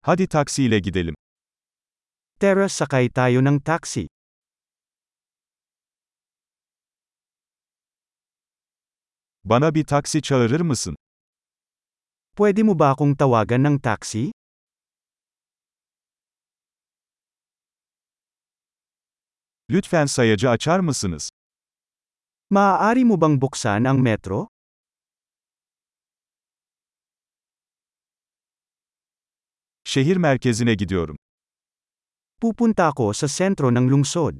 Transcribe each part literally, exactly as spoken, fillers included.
Hadi taksiyle gidelim. Tara, sakay tayo ng taxi. Bana bir taksi çağırır mısın? Pwede mo ba akong tawagan ng taxi? Lütfen sayacı açar mısınız? Maaari mo bang buksan ang metro? Şehir merkezine gidiyorum. Pupunta ako sa sentro ng lungsod.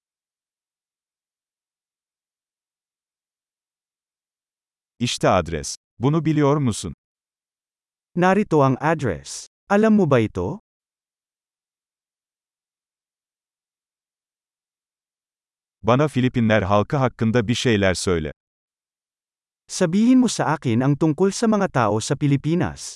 İşte adres. Bunu biliyor musun? Narito ang address. Alam mo ba ito? Bana Filipinler halkı hakkında bir şeyler söyle. Sabihin mo sa akin ang tungkol sa mga tao sa Pilipinas.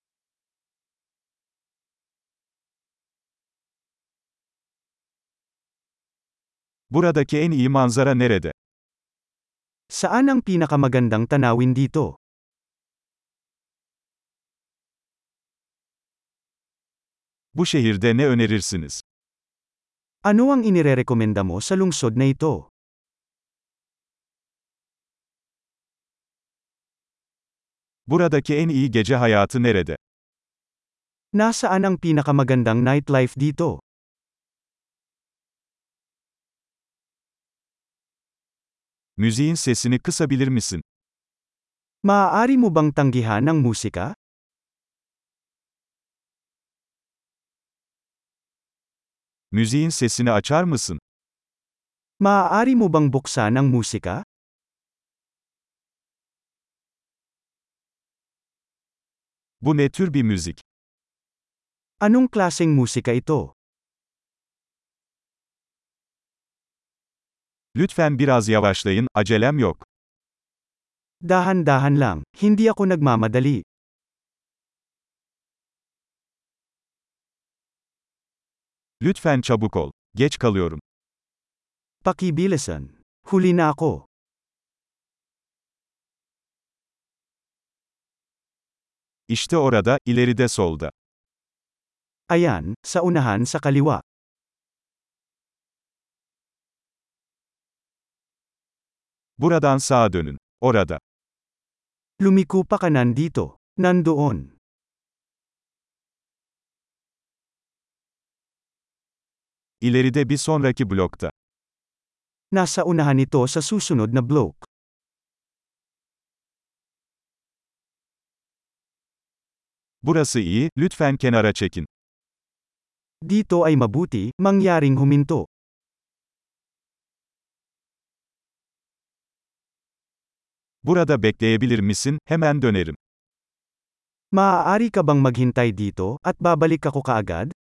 Buradaki en iyi manzara nerede? Saan ang pinakamagandang tanawin dito? Bu şehirde ne önerirsiniz? Ano ang inirerekomenda mo sa lungsod na ito? Buradaki en iyi gece hayatı nerede? Nasaan ang pinakamagandang nightlife dito? Müziğin sesini kısabilir misin? Maaari mo bang tanggihan ang musika? Müziğin sesini açar mısın? Maaari mo bang buksan ang musika? Bu ne tür bir müzik? Anong klaseng musika ito? Lütfen biraz yavaşlayın, acelem yok. Dahan-dahan lang, hindi ako nagmamadali. Lütfen çabuk ol. Geç kalıyorum. Pakibilisan. Huli na ako. İşte orada, ileride solda. Ayan, sa unahan sa kaliwa. Buradan sağa dönün. Orada. Lumiko pa kanan dito. Nandoon. İleride bir sonraki blokta. Nasa unahan ito sa susunod na block. Burası iyi, lütfen kenara çekin. Dito ay mabuti, mangyaring huminto. Burada bekleyebilir misin? Hemen dönerim. Maaari ka bang maghintay dito, at babalik ako kaagad?